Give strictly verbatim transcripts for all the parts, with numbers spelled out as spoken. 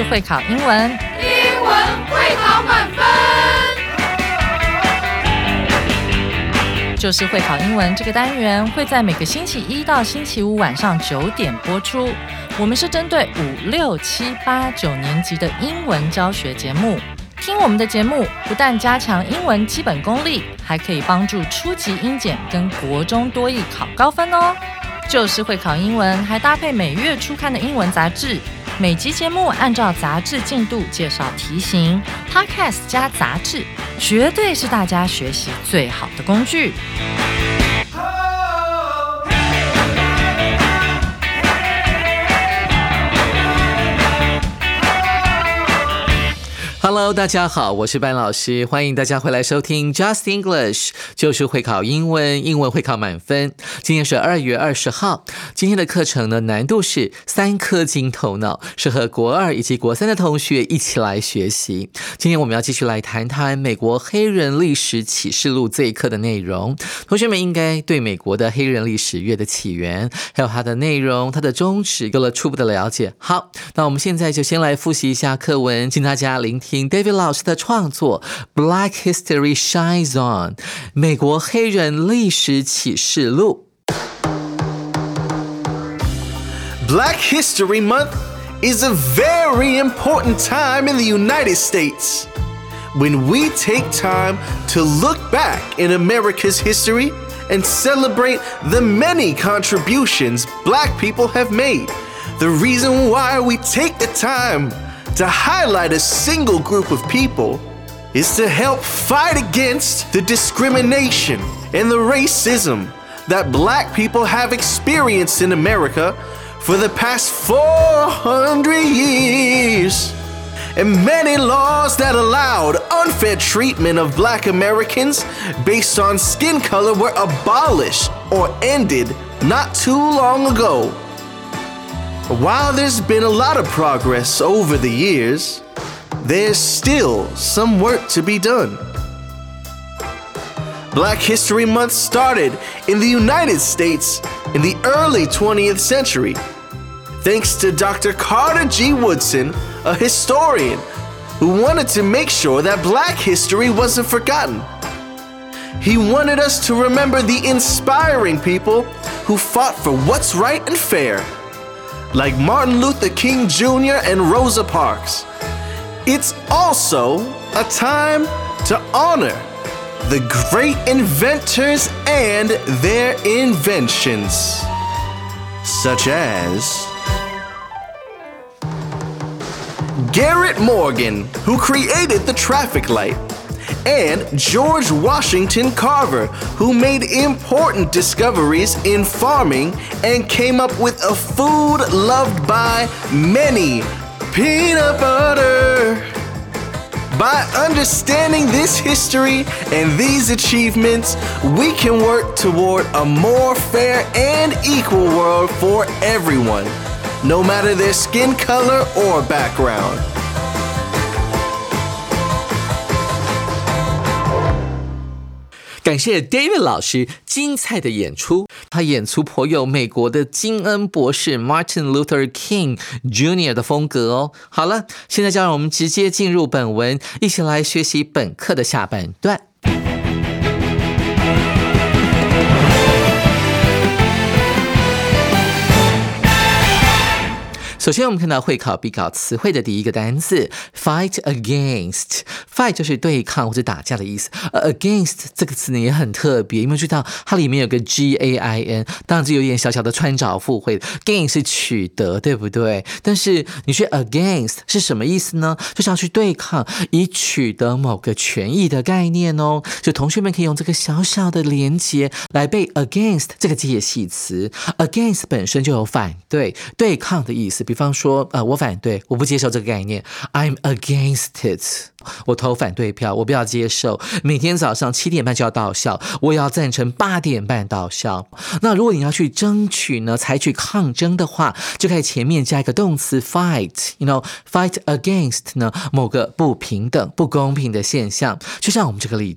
就是会考英文， 英文会考满分。 就是会考英文这个单元会在每个星期一到星期五晚上九点播出。我们是针对五六七八九年级的英文教学节目。听我们的节目不但加强英文基本功力，还可以帮助初级英检跟国中多益考高分哦。就是会考英文还搭配每月初刊的英文杂志，每集节目按照杂志进度介绍题型， Podcast 加杂志绝对是大家学习最好的工具。 Hello， 大家好，我是班老师，欢迎大家回来收听 Just English， 就是会考英文，英文会考满分。今天是二月二十号，今天的课程呢，难度是三颗金头脑，适合国二以及国三的同学一起来学习。今天我们要继续来谈谈美国黑人历史启示录这一课的内容。同学们应该对美国的黑人历史乐的起源，还有它的内容、它的宗旨有了初步的了解。好，那我们现在就先来复习一下课文，请大家聆听David 老师的创作 Black History Shines On 美国黑人历史启示录。 Black History Month is a very important time in the United States when we take time to look back in America's history and celebrate the many contributions Black people have made. The reason why we take the time to highlight a single group of people is to help fight against the discrimination and the racism that Black people have experienced in America for the past four hundred years. And many laws that allowed unfair treatment of Black Americans based on skin color were abolished or ended not too long ago. While there's been a lot of progress over the years, there's still some work to be done. Black History Month started in the United States in the early twentieth century, thanks to Doctor Carter G. Woodson, a historian who wanted to make sure that Black history wasn't forgotten. He wanted us to remember the inspiring people who fought for what's right and fair, like Martin Luther King Junior and Rosa Parks. It's also a time to honor the great inventors and their inventions, such as Garrett Morgan, who created the traffic light, and George Washington Carver, who made important discoveries in farming and came up with a food loved by many, peanut butter. By understanding this history and these achievements, we can work toward a more fair and equal world for everyone, no matter their skin color or background. 感谢 David 老师精彩的演出，他演出颇有美国的金恩博士 Martin Luther King Junior 的风格哦。好了，现在就让我们直接进入本文，一起来学习本课的下半段。首先我们看到会考必考词汇的第一个单字 fight against。 fight 就是对抗或者打架的意思，而 against 这个词呢也很特别，有没有注意到它里面有个 G A I N， 当然这有点小小的穿凿附会， gain 是取得，对不对？但是你去 against 是什么意思呢？就是要去对抗，以取得某个权益的概念哦。就同学们可以用这个小小的连结来背 against 这个介系词。 against 本身就有反对、对抗的意思，比方说、呃、我反对，我不接受这个概念， I'm against it， 我投反对票，我不要接受每天早上七点半就要到校，我也要赞成八点半到校。那如果你要去争取呢，采取抗争的话，就可以前面加一个动词 fight， you know fight against 呢某个不平等不公平的现象。就像我们这个例句，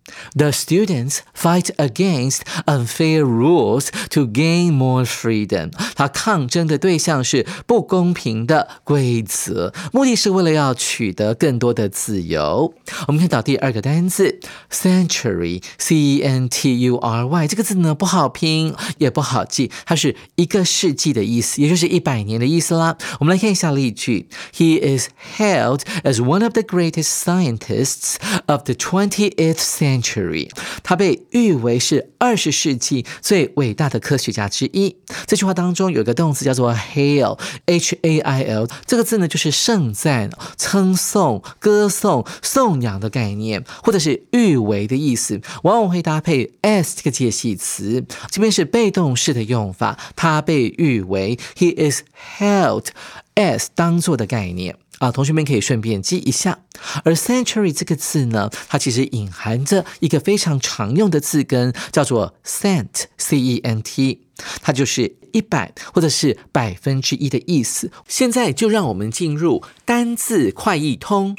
The students fight against unfair rules to gain more freedom. 他抗争的对象是不公平的规则，目的是为了要取得更多的自由。我们看到第二个单字 century, C E N T U R Y 这个字呢不好拼也不好记，它是一个世纪的意思，也就是一百年的意思啦。我们来看一下例句 He is hailed as one of the greatest scientists of the twentieth century. 他被誉为是二十世纪最伟大的科学家之一。这句话当中有一个动词叫做 hail, H A I L 这个字呢就是盛赞、称颂、歌颂、颂扬的概念，或者是誉为的意思，往往会搭配 as 这个介系词。这边是被动式的用法，他被誉为 He is held as 当作的概念啊，同学们可以顺便记一下。而 century 这个字呢，它其实隐含着一个非常常用的字根，叫做 cent, C E N T， 它就是一百或者是百分之一的意思。现在就让我们进入单字快易通。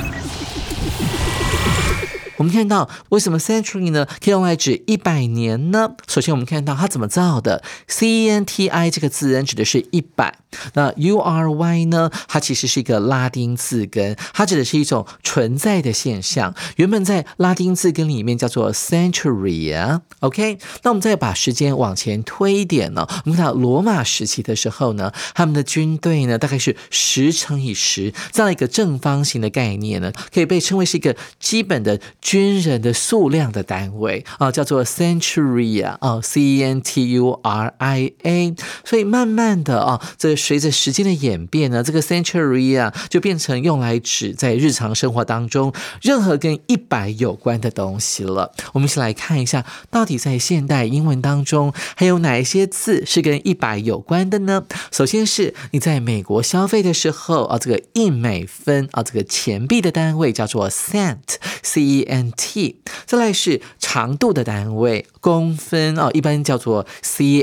我们看到为什么 century 呢可以用来指一百年呢？首先我们看到它怎么造的 C E N T I 这个字根指的是一百，那 U R Y 呢它其实是一个拉丁字根，它指的是一种存在的现象，原本在拉丁字根里面叫做 century 啊 OK， 那我们再把时间往前推一点呢，我们看到罗马时期的时候呢，他们的军队呢大概是十乘以十这样一个正方形的概念呢，可以被称为是一个基本的军人的数量的单位啊，叫做 centuria 啊 ，C E N T U R I A。所以慢慢的啊，这随着时间的演变呢，这个 centuria 就变成用来指在日常生活当中任何跟一百有关的东西了。我们一起来看一下，到底在现代英文当中还有哪一些字是跟一百有关的呢？首先是你在美国消费的时候啊，这个一美分啊，这个钱币的单位叫做 cent。C E N T， 再来是长度的单位公分哦，一般叫做 C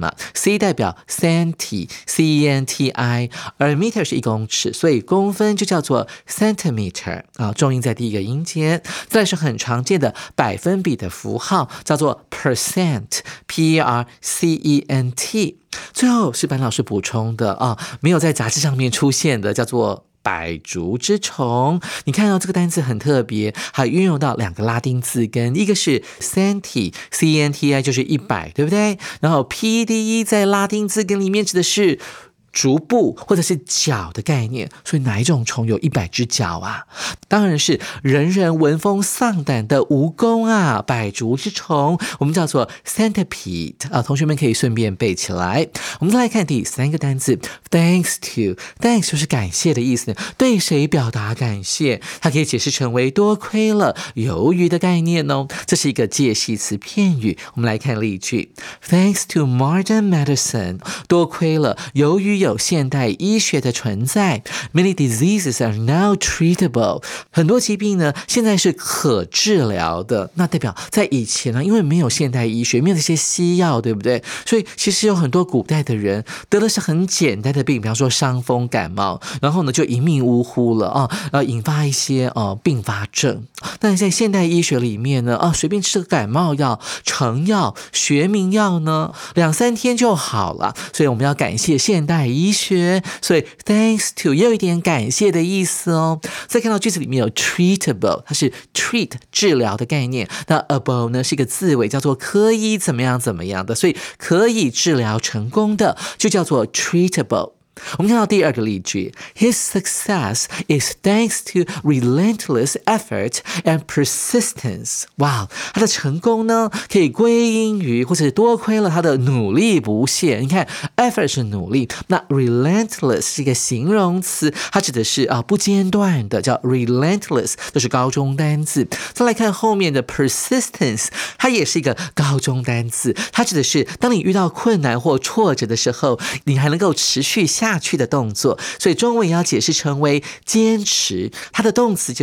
M，C 代表 centi C E N T I， 而 meter 是一公尺，所以公分就叫做 centimeter 啊，重音在第一个音节。再来是很常见的百分比的符号，叫做 percent P E R C E N T。最后是班老师补充的啊，没有在杂志上面出现的，叫做百足之虫。你看到这个单词很特别，还运用到两个拉丁字根，一个是 centi C E N T I 就是一百，对不对？然后 P D E 在拉丁字根里面指的是足部或者是脚的概念，所以哪一种虫有一百只脚啊？当然是人人闻风丧胆的蜈蚣啊，百足之虫，我们叫做 centipede 啊，同学们可以顺便背起来。我们再来看第三个单字 thanks to， thanks 就是感谢的意思，对谁表达感谢，它可以解释成为多亏了、由于的概念哦，这是一个介系词片语。我们来看例句 Thanks to modern medicine， 多亏了由于有现代医学的存在 Many diseases are now treatable， 很多疾病呢现在是可治疗的，那代表在以前呢，因为没有现代医学，没有这些西药，对不对？所以其实有很多古代的人得的是很简单的病，比方说伤风感冒，然后呢就一命呜呼了啊，呃引发一些呃并发症。但是在现代医学里面呢，啊随便吃个感冒药、成药、学名药呢，两三天就好了。所以我们要感谢现代医学，所以 thanks to 也有一点感谢的意思哦。再看到句子里面有 treatable， 它是 treat 治疗的概念，那 able 呢是一个字尾，叫做可以怎么样怎么样的，所以可以治疗成功的就叫做 treatable。我们看到第二个例句 His success is thanks to relentless effort and persistence。 哇，他的成功呢可以归因于或者多亏了他的努力不懈。你看 effort 是努力，那 relentless 是一个形容词，它指的是啊不间断的，叫 relentless， 这是高中单字。再来看后面的 persistence， 它也是一个高中单字，它指的是当你遇到困难或挫折的时候，你还能够持续下下去的动作，所以中文也要解释成为坚持，它的动词就是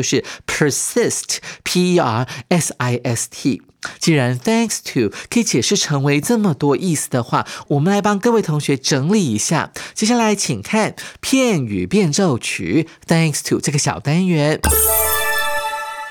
persist P E R S I S T。 既然 thanks to 可以解释成为这么多意思的话，我们来帮各位同学整理一下。接下来请看片语变奏曲 thanks to 这个小单元。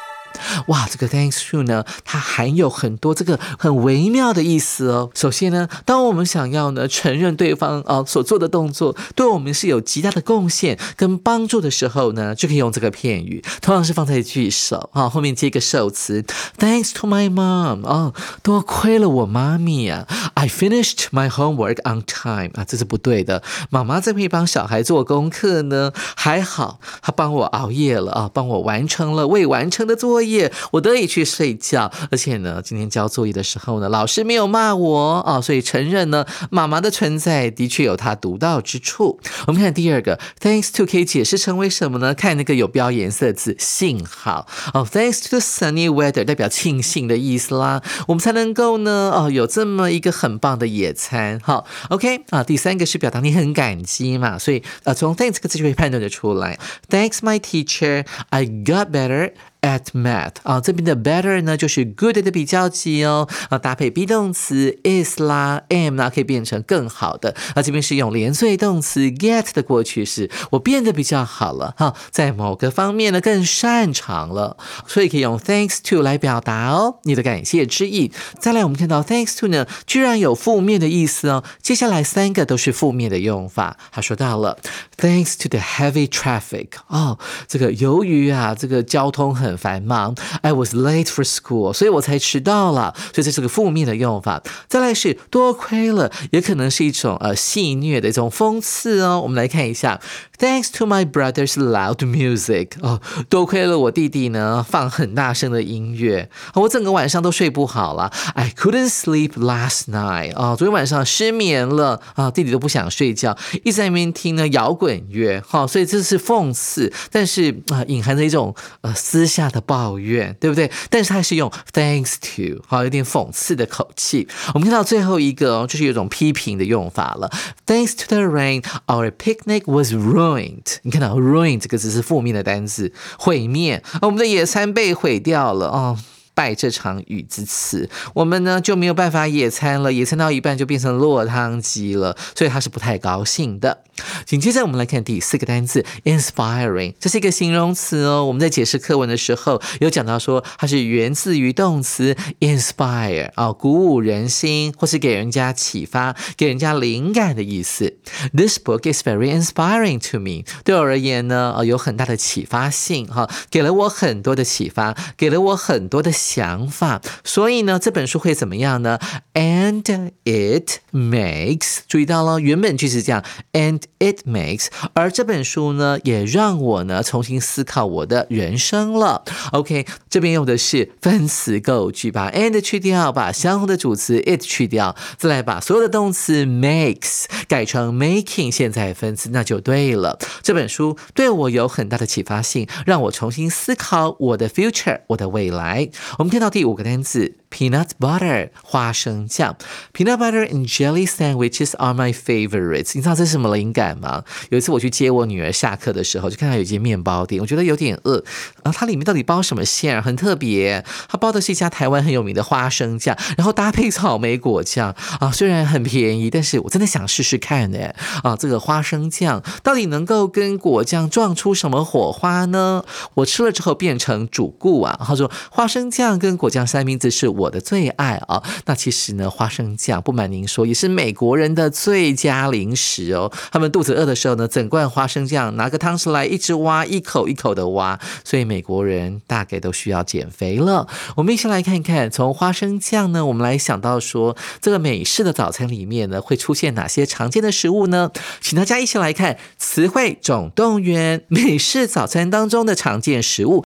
哇，这个 thanks to 呢，它含有很多这个很微妙的意思哦。首先呢，当我们想要呢承认对方啊、呃、所做的动作对我们是有极大的贡献跟帮助的时候呢，就可以用这个片语，通常是放在句首啊，后面接一个受词 ，Thanks to my mom 哦，多亏了我妈咪啊 ，I finished my homework on time 啊，这是不对的。妈妈这边帮小孩做功课呢，还好，她帮我熬夜了啊，帮我完成了未完成的作业，我得以去睡觉。而且呢，今天交作业的时候呢，老师没有骂我啊，所以承认呢，妈妈的存在的确有她独到之处。我们看第二个 ，Thanks to 可以解释成为什么呢？看那个有标颜色字，幸好哦 ，Thanks to the sunny weather 代表庆幸的意思啦，我们才能够呢哦有这么一个很棒的野餐。好 ，OK 啊，第三个是表达你很感激嘛，所以呃从 Thanks 这个字就可以判断得出来 ，Thanks my teacher, I got better at math 啊，这边的 better 呢就是 good 的比较级哦，啊搭配 be 动词 is 啦 am 啦，可以变成更好的。啊这边是用连缀动词 get 的过去式，我变得比较好了哈，在某个方面呢更擅长了，所以可以用 thanks to 来表达哦你的感谢之意。再来我们看到 thanks to 呢居然有负面的意思哦，接下来三个都是负面的用法。他说到了 thanks to the heavy traffic 哦，这个由于啊这个交通很繁忙 I was late for school 所以我才迟到了，所以这是个负面的用法。再来是多亏了，也可能是一种呃戏谑的一种讽刺哦。我们来看一下 Thanks to my brother's loud music 哦，多亏了我弟弟呢放很大声的音乐，我整个晚上都睡不好了 I couldn't sleep last night 哦，昨天晚上失眠了啊，弟弟都不想睡觉，一直在那边听呢摇滚乐，好、哦，所以这是讽刺，但是啊、呃、隐含着一种呃私下的抱怨，对不对？但是他是用 thanks to 好、哦，有点讽刺的口气。我们看到最后一个哦，就是有一种批评的用法了。Thanks to the rain, our picnic was ruined。你看到 ruin 这个字是负面的单字，毁灭，我们的野餐被毁掉了哦。拜这场雨之赐，我们呢就没有办法野餐了，野餐到一半就变成落汤鸡了，所以他是不太高兴的。紧接着我们来看第四个单字 inspiring， 这是一个形容词哦。我们在解释课文的时候有讲到说它是源自于动词 inspire 啊、哦，鼓舞人心或是给人家启发、给人家灵感的意思。This book is very inspiring to me， 对我而言呢、呃、有很大的启发性哈、哦，给了我很多的启发，给了我很多的想法，所以呢这本书会怎么样呢 ？And it makes， 注意到了原本句是这样 ，and it makes， 而这本书呢也让我呢重新思考我的人生了。OK， 这边用的是分词构句，把 and 去掉，把相同的主词 it 去掉，再来把所有的动词 makes 改成 making 现在分词，那就对了。这本书对我有很大的启发性，让我重新思考我的 future， 我的未来。我们看到第五个单词 peanut butter 花生酱 peanut butter and jelly sandwiches are my favorites。 你知道这是什么灵感吗？有一次我去接我女儿下课的时候，就看到有一间面包店，我觉得有点饿，然后它里面到底包什么馅，很特别，它包的是一家台湾很有名的花生酱，然后搭配草莓果酱啊，虽然很便宜，但是我真的想试试看呢啊，这个花生酱到底能够跟果酱撞出什么火花呢？我吃了之后变成主顾啊，他说花生酱跟果酱三明治是我的最爱啊。那其实呢，花生酱不瞒您说，也是美国人的最佳零食哦。他们肚子饿的时候呢，整罐花生酱拿个汤匙来一直挖，一口一口的挖。所以美国人大概都需要减肥了。我们一起来看看，从花生酱呢，我们来想到说，这个美式的早餐里面呢，会出现哪些常见的食物呢？请大家一起来看词汇总动员，美式早餐当中的常见食物。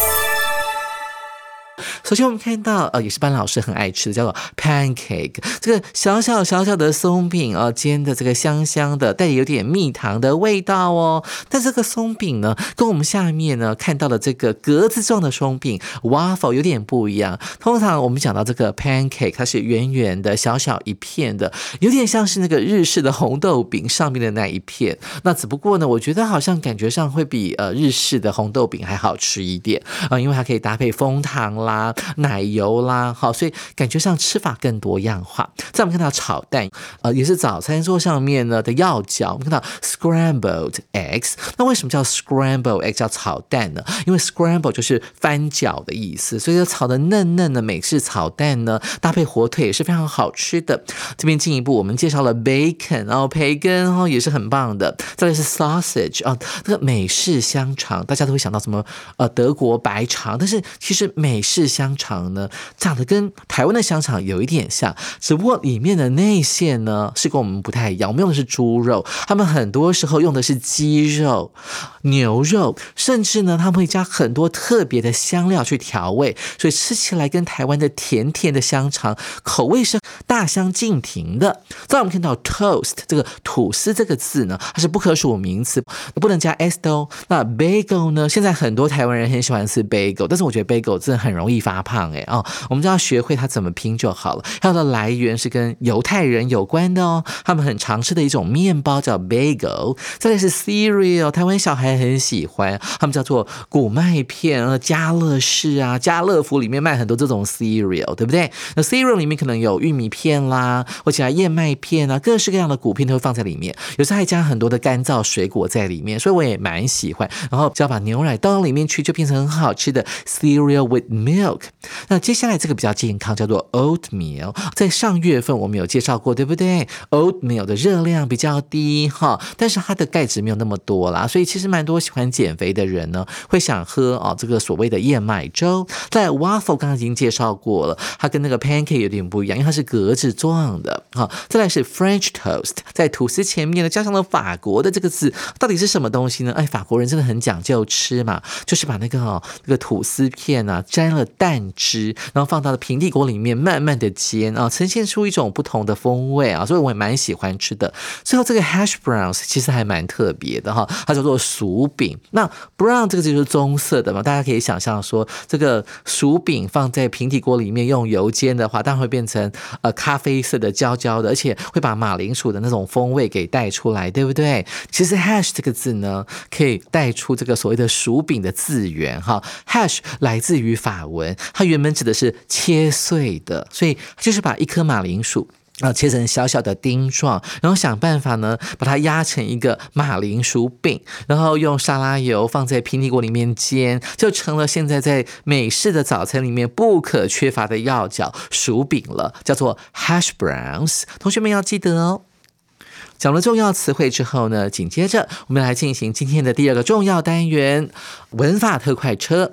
首先我们看到呃，也是班老师很爱吃的，叫做 pancake， 这个小小小小的松饼啊、呃，煎的这个香香的，带有点蜜糖的味道哦。但这个松饼呢，跟我们下面呢看到的这个格子状的松饼 waffle 有点不一样。通常我们讲到这个 pancake， 它是圆圆的、小小一片的，有点像是那个日式的红豆饼上面的那一片。那只不过呢，我觉得好像感觉上会比呃日式的红豆饼还好吃一点啊、呃，因为它可以搭配枫糖啦。 啦、奶油啦，好，所以感觉上吃法更多样化。再我们看到炒蛋，呃，也是早餐桌上面呢的要角。我们看到 scrambled eggs， 那为什么叫 scrambled egg 叫炒蛋呢？因为 scramble 就是翻搅的意思，所以炒的嫩嫩的美式炒蛋呢，搭配火腿也是非常好吃的。这边进一步我们介绍了 bacon， 然后培根哦也是很棒的。再来是 sausage 啊，这个美式香肠，大家都会想到什么呃德国白肠，但是其实美式香肠呢，长得跟台湾的香肠有一点像，只不过里面的内馅呢是跟我们不太一样。我们用的是猪肉，他们很多时候用的是鸡肉、牛肉，甚至呢他们会加很多特别的香料去调味，所以吃起来跟台湾的甜甜的香肠口味是大相径庭的。再我们看到 toast 这个吐司这个字呢，它是不可数名词，不能加 s 的哦。那 bagel 呢，现在很多台湾人很喜欢吃 bagel， 但是我觉得 bagel 真的很容易发胖哎哦，我们就要学会它怎么拼就好了。它的来源是跟犹太人有关的哦，他们很常吃的一种面包叫 bagel。再来是 cereal， 台湾小孩很喜欢，他们叫做谷麦片啊，家乐士啊、家乐福里面卖很多这种 cereal， 对不对？那 cereal 里面可能有玉米片啦，或者燕麦片啊，各式各样的谷片都会放在里面，有时候还加很多的干燥水果在里面，所以我也蛮喜欢。然后只要把牛奶倒到里面去，就变成很好吃的 cereal with milk。那接下来这个比较健康，叫做 oatmeal， 在上月份我们有介绍过，对不对？ oatmeal 的热量比较低哈，但是它的钙质没有那么多啦，所以其实蛮多喜欢减肥的人呢，会想喝啊、哦、这个所谓的燕麦粥。在 waffle 刚刚已经介绍过了，它跟那个 pancake 有点不一样，因为它是格子状的。好，再来是 French toast， 在吐司前面呢加上了法国的这个字，到底是什么东西呢？哎，法国人真的很讲究吃嘛，就是把那个哦这个吐司片啊沾了蛋汁，然后放到了平底锅里面慢慢的煎啊，呈现出一种不同的风味啊，所以我也蛮喜欢吃的。最后这个 hash browns 其实还蛮特别的哈，它叫做薯饼。那 brown 这个就是棕色的嘛，大家可以想象说这个薯饼放在平底锅里面用油煎的话，当然会变成呃咖啡色的焦焦的，而且会把马铃薯的那种风味给带出来，对不对？其实 hash 这个字呢，可以带出这个所谓的薯饼的字源哈。hash 来自于法文，它原本指的是切碎的，所以就是把一颗马铃薯啊，切成小小的丁状，然后想办法呢，把它压成一个马铃薯饼，然后用沙拉油放在平底锅里面煎，就成了现在在美式的早餐里面不可缺乏的要角薯饼了，叫做 hash browns。同学们要记得哦。讲了重要词汇之后呢，紧接着我们来进行今天的第二个重要单元——文法特快车。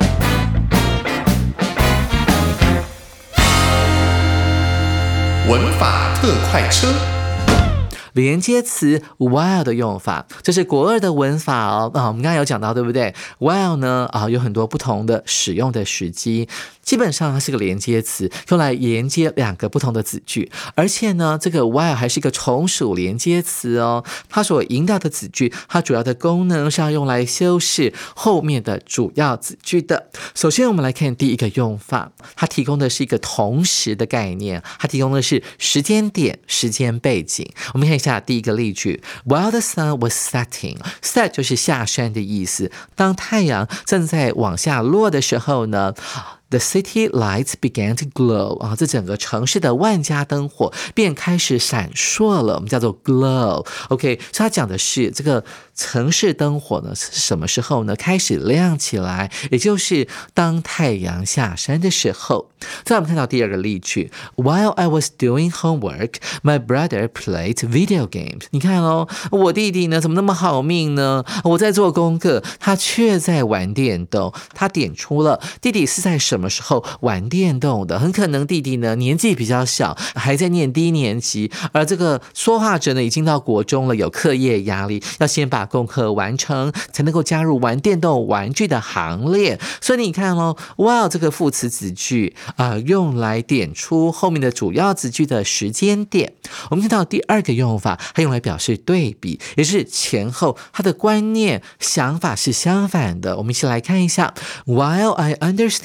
文法特快车。 连接词 while 的用法，这是国二的文法哦。啊，我们刚刚有讲到，对不对？ while 呢啊，有很多不同的使用的时机，基本上它是个连接词，用来连接两个不同的子句，而且呢，这个 while 还是一个从属连接词哦。它所引导的子句，它主要的功能是要用来修饰后面的主要子句的。首先，我们来看第一个用法，它提供的是一个同时的概念，它提供的是时间点、时间背景。我们看一下第一个例句 ，While the sun was setting， set 就是下山的意思。当太阳正在往下落的时候呢，The city lights began to glow 啊，这整个城市的万家灯火便开始闪烁了，我们叫做 glow。OK， 所以它讲的是这个城市灯火呢是什么时候呢开始亮起来，也就是当太阳下山的时候。再我们看到第二个例句 ，While I was doing homework, my brother played video games。你看哦，我弟弟呢怎么那么好命呢？我在做功课，他却在玩电动。他点出了弟弟是在什么时候玩电动的？很可能弟弟呢年纪比较小，还在念低年级，而这个说话者呢已经到国中了，有课业压力，要先把功课完成，才能够加入玩电动玩具的行列。所以你看哦 ，while 这个副词子句啊、呃，用来点出后面的主要子句的时间点。我们看到第二个用法，它用来表示对比，也是前后它的观念想法是相反的。我们一起来看一下 ，While I understand your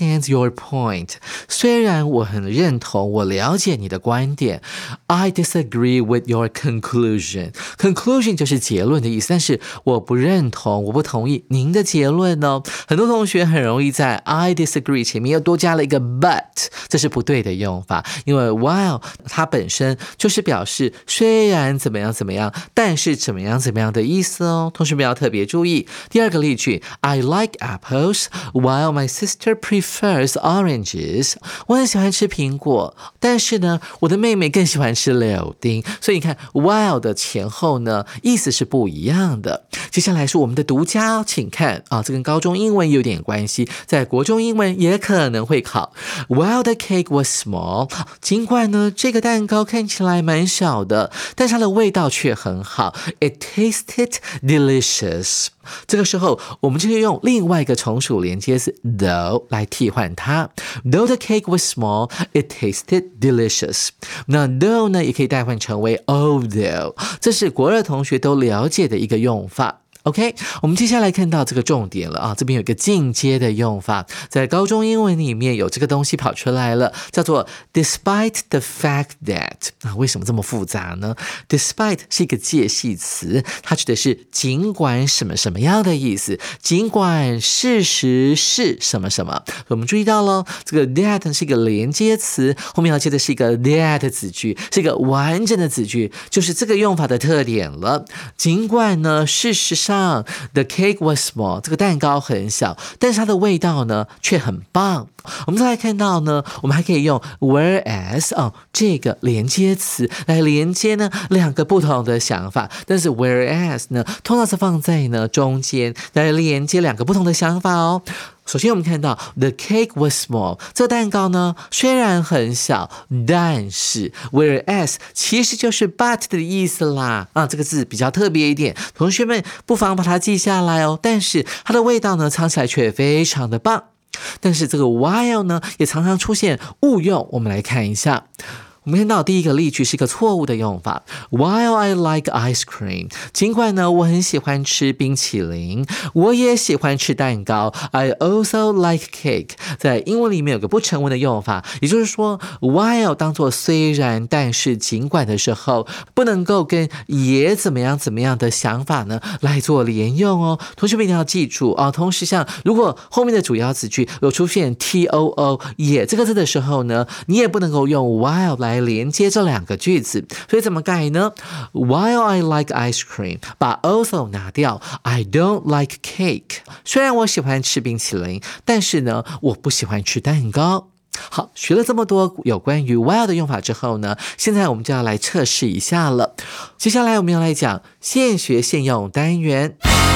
your point. 虽然我很认同，我了解你的观点。I disagree with your conclusion. Conclusion 就是结论的意思，但是我不认同，我不同意您的结论哦。很多同学很容易在 I disagree 前面又多加了一个 but， 这是不对的用法，因为 while 它本身就是表示虽然怎么样怎么样，但是怎么样怎么样的意思哦。同学们要特别注意。第二个例句 I like apples while my sister prefers oranges. 我很喜欢吃苹果，但是呢我的妹妹更喜欢吃柳丁。所以你看 while 的前后呢意思是不一样的。接下来是我们的独家哦，请看啊，这跟高中英文有点关系，在国中英文也可能会考。While the cake was small, 尽管呢这个蛋糕看起来蛮小的，但是它的味道却很好。It tasted delicious. 这个时候我们就可以用另外一个从属连接词 though 来替换它。Though the cake was small, it tasted delicious. 那 though 呢也可以代换成为 although， 这是国二同学都了解的一个用法。OK， 我们接下来看到这个重点了啊，这边有一个进阶的用法，在高中英文里面有这个东西跑出来了，叫做 despite the fact that。啊，为什么这么复杂呢？ Despite 是一个介系词，它指的是尽管什么什么样的意思，尽管事实是什么什么。我们注意到了，这个 that 是一个连接词，后面要接的是一个 that 子句，是一个完整的子句，就是这个用法的特点了。尽管呢，事实上The cake was small， 这个蛋糕很小，但是它的味道呢却很棒。我们再来看到呢，我们还可以用 whereas 哦这个连接词来连接呢两个不同的想法，但是 whereas 呢通常是放在呢中间来连接两个不同的想法哦。首先我们看到 the cake was small， 这个蛋糕呢虽然很小，但是 whereas 其实就是 but 的意思啦啊，这个字比较特别一点，同学们不妨把它记下来哦。但是它的味道呢尝起来却非常的棒。但是这个 while 呢也常常出现误用，我们来看一下。我们看到第一个例句是一个错误的用法 While I like ice cream， 尽管呢我很喜欢吃冰淇淋，我也喜欢吃蛋糕 I also like cake。 在英文里面有个不成文的用法，也就是说 while 当作虽然但是尽管的时候，不能够跟也怎么样怎么样的想法呢来做连用哦。同学们一定要记住哦。同时像如果后面的主要子句有出现 too 也这个字的时候呢，你也不能够用 while 来来连接这两个句子，所以怎么改呢？ While I like ice cream， 把 also 拿掉， I don't like cake。 虽然我喜欢吃冰淇淋，但是呢我不喜欢吃蛋糕。好，学了这么多有关于 while 的用法之后呢，现在我们就要来测试一下了。接下来我们要来讲现学现用单元。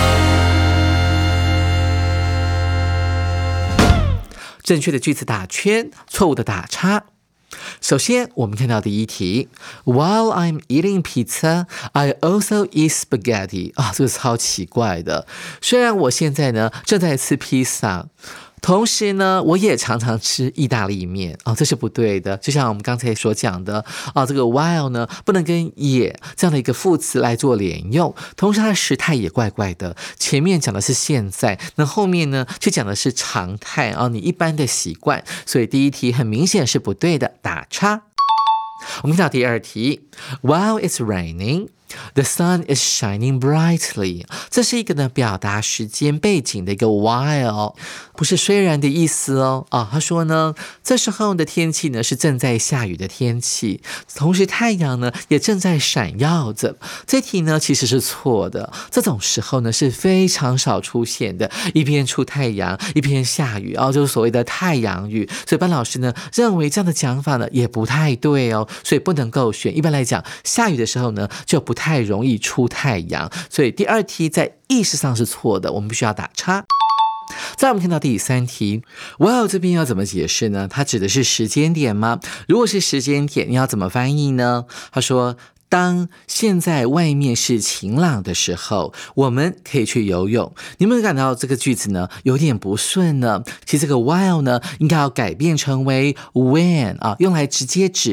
正确的句子打圈，错误的打叉。首先我们看到第一题 While I'm eating pizza, I also eat spaghetti。 啊，这个超奇怪的。虽然我现在呢正在吃披萨，同时呢我也常常吃意大利面。哦，这是不对的。就像我们刚才所讲的哦，这个 while 呢不能跟也这样的一个副词来做连用，同时它的时态也怪怪的。前面讲的是现在，那后面呢却讲的是常态哦，你一般的习惯。所以第一题很明显是不对的，打叉。我们看到第二题 While it's raining, the sun is shining brightly。 这是一个呢表达时间背景的一个 while， 不是虽然的意思哦。啊，他说呢这时候的天气呢是正在下雨的天气，同时太阳呢也正在闪耀着。这题呢其实是错的，这种时候呢是非常少出现的，一边出太阳一边下雨哦，就是所谓的太阳雨。所以班老师呢认为这样的讲法呢也不太对哦，所以不能够选。一般来讲下雨的时候呢就不太容易出太阳，所以第二题在意识上是错的，我们必须要打叉。再来我们看到第三题 While 这边要怎么解释呢？它指的是时间点吗？如果是时间点，你要怎么翻译呢？他说当现在外面是晴朗的时候，我们可以去游泳。你有没有感到这个句子呢有点不顺呢？其实这个 while 呢应该要改变成为 when 啊，用来直接指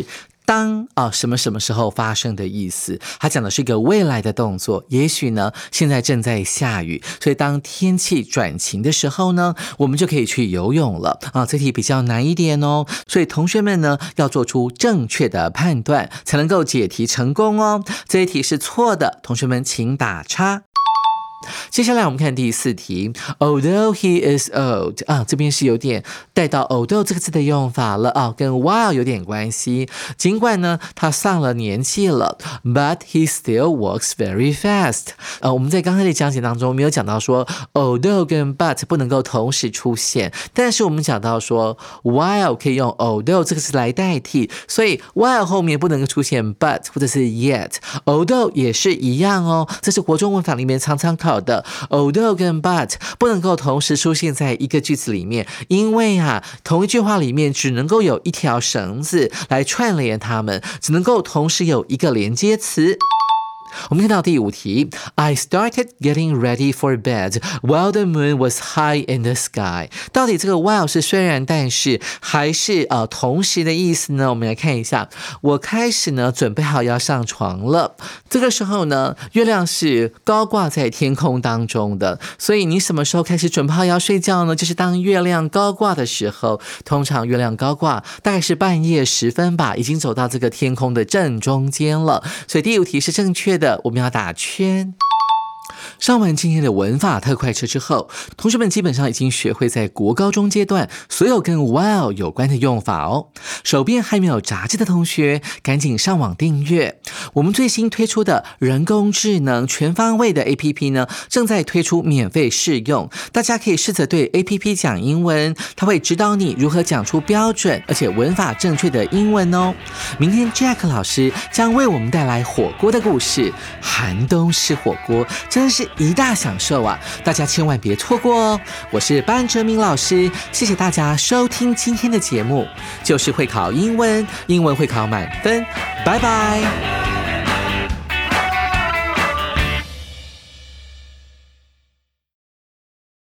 当啊、哦、什么什么时候发生的意思，它讲的是一个未来的动作，也许呢现在正在下雨，所以当天气转晴的时候呢，我们就可以去游泳了啊。这题比较难一点哦，所以同学们呢要做出正确的判断，才能够解题成功哦。这一题是错的，同学们请打叉。接下来我们看第四题 Although he is old 啊，这边是有点带到 although 这个字的用法了啊，跟 while 有点关系。尽管呢他上了年纪了 But he still walks very fast 呃，我们在刚才的讲解当中没有讲到说 although 跟 but 不能够同时出现，但是我们讲到说 while 可以用 although 这个词来代替，所以 while 后面不能够出现 but 或者是 yet， although 也是一样哦，这是国中文法里面常常考的 although 跟 but 不能够同时出现在一个句子里面，因为啊同一句话里面只能够有一条绳子来串联它们，只能够同时有一个连接词。我们看到第五题 I started getting ready for bed while the moon was high in the sky 到底这个 while 是虽然但是还是呃同时的意思呢？我们来看一下，我开始呢准备好要上床了，这个时候呢月亮是高挂在天空当中的，所以你什么时候开始准备好要睡觉呢？就是当月亮高挂的时候，通常月亮高挂大概是半夜时分吧，已经走到这个天空的正中间了，所以第五题是正确的，我们要打圈。上完今天的文法特快车之后，同学们基本上已经学会在国高中阶段所有跟 while 有关的用法哦。手边还没有杂志的同学，赶紧上网订阅。我们最新推出的人工智能全方位的 A P P 呢，正在推出免费试用，大家可以试着对 A P P 讲英文，它会指导你如何讲出标准而且文法正确的英文哦。明天 Jack 老师将为我们带来火锅的故事，寒冬吃火锅真是一大享受啊，大家千万别错过哦。我是班哲明老师，谢谢大家收听今天的节目，就是会考英文，英文会考满分，拜拜。